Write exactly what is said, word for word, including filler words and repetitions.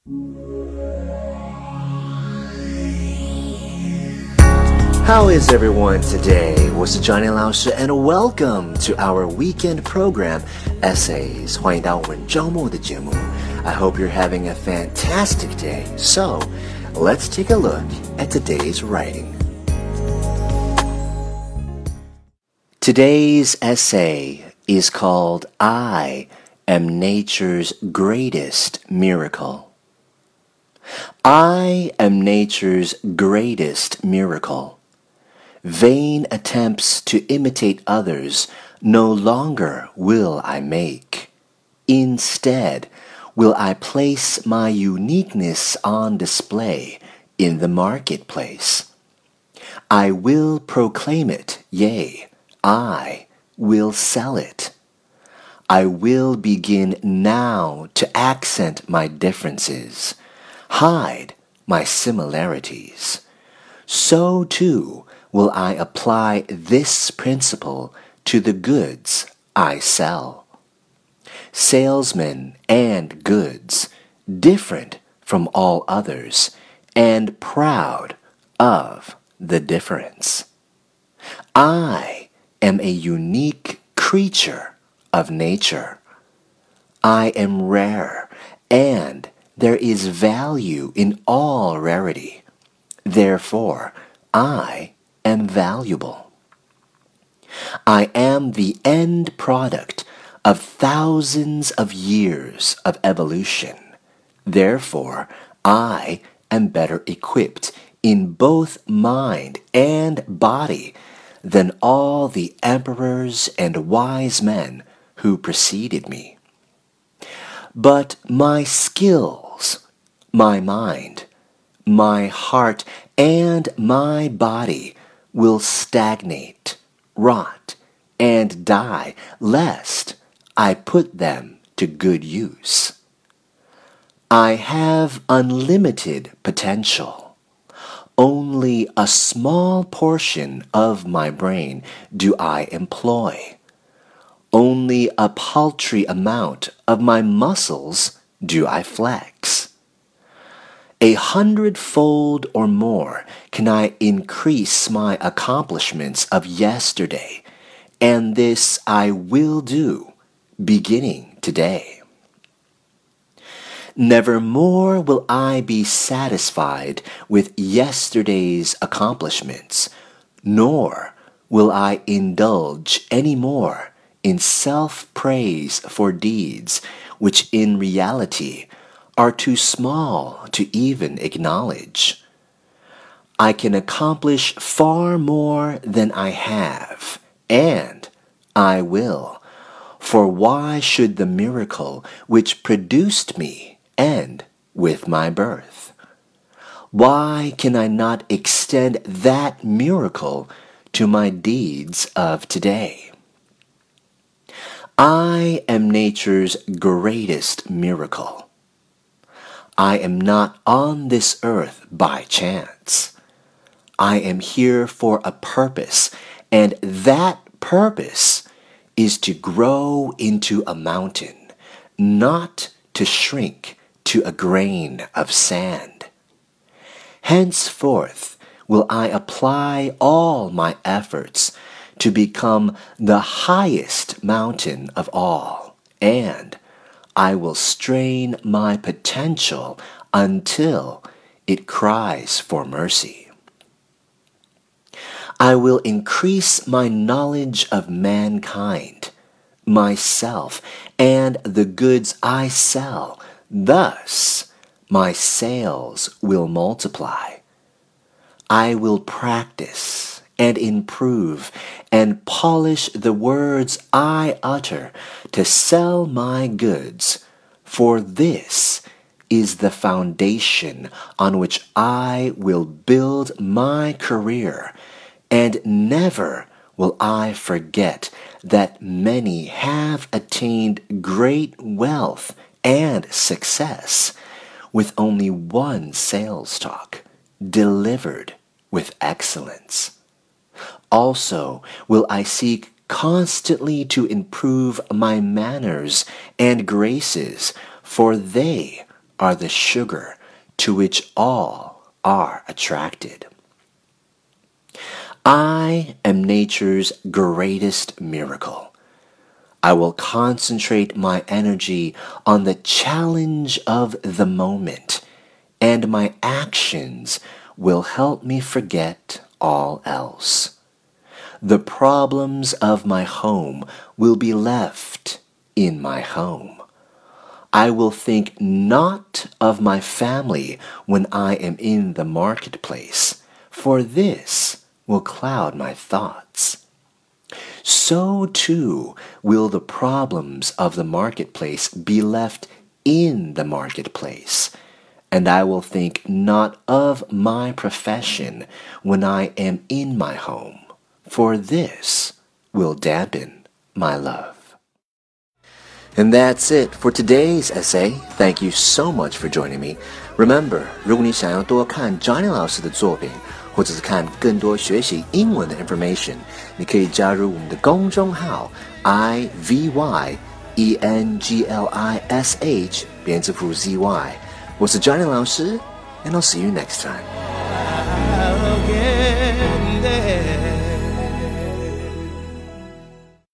How is everyone today? 我是 Johnny 老师 and welcome to our weekend program, Essays. 欢迎到我们周末的节目。I hope you're having a fantastic day. So, let's take a look at today's writing. Today's essay is called I am nature's greatest miracle. I am nature's greatest miracle. Vain attempts to imitate others no longer will I make. Instead, will I place my uniqueness on display in the marketplace. I will proclaim it, yea, I will sell it. I will begin now to accent my differences, hide my similarities. So too will I apply this principle to the goods I sell. Salesmen and goods, different from all others, and proud of the difference. I am a unique creature of nature. I am rare, and there is value in all rarity. Therefore, I am valuable. I am the end product of thousands of years of evolution. Therefore, I am better equipped in both mind and body than all the emperors and wise men who preceded me. But my skills, my mind, my heart, and my body will stagnate, rot, and die lest I put them to good use. I have unlimited potential. Only a small portion of my brain do I employ. Only a paltry amount of my muscles do I flex. A hundredfold or more can I increase my accomplishments of yesterday, and this I will do, beginning today. Nevermore will I be satisfied with yesterday's accomplishments, nor will I indulge any more in self-praise for deeds which in reality are too small to even acknowledge. I can accomplish far more than I have, and I will, for why should the miracle which produced me end with my birth? Why can I not extend that miracle to my deeds of today? I am nature's greatest miracle. I am not on this earth by chance. I am here for a purpose, and that purpose is to grow into a mountain, not to shrink to a grain of sand. Henceforth will I apply all my efforts to become the highest mountain of all, and I will strain my potential until it cries for mercy. I will increase my knowledge of mankind, myself, and the goods I sell. Thus, my sales will multiply. I will practice and improve and polish the words I utter to sell my goods, for this is the foundation on which I will build my career, and never will I forget that many have attained great wealth and success with only one sales talk, delivered with excellence. Also will I seek constantly to improve my manners and graces, for they are the sugar to which all are attracted. I am nature's greatest miracle. I will concentrate my energy on the challenge of the moment, and my actions will help me forget all else. The problems of my home will be left in my home. I will think not of my family when I am in the marketplace, for this will cloud my thoughts. So too will the problems of the marketplace be left in the marketplace, and I will think not of my profession when I am in my home, for this will dampen my love. And that's it for today's essay. Thank you so much for joining me. Remember, 如果你想要多看 Johnny 老师的作品，或者是看更多学习英文的 information， 你可以加入我们的公众号 I V Y E N G L I S H 编字符 Z Y。我是 Johnny 老师 ，and I'll see you next time.